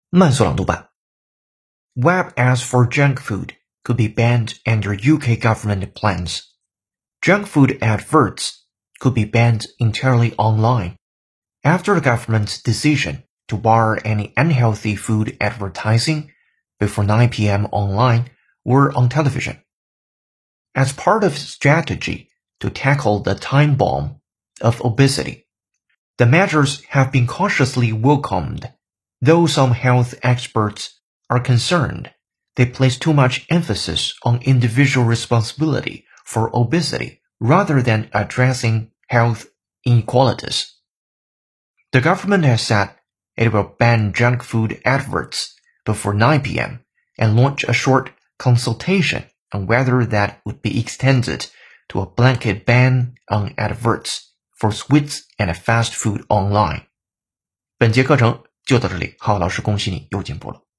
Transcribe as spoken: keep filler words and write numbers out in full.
慢速朗读版 Web ads for junk food could be banned under U K government plans. Junk food adverts could be banned entirely online after the government's decision to bar any unhealthy food advertising before nine p.m. online or on television. As part of its strategy to tackle the time bomb of obesity, the measures have been cautiously welcomed, though some health experts are concerned they place too much emphasis on individual responsibility for obesity rather than addressing health inequalities. The government has said it will ban junk food adverts before nine p.m. and launch a short consultation on whether that would be extended to a blanket ban on adverts for sweets and fast food online. 本节课程就到这里，浩老师恭喜你又进步了。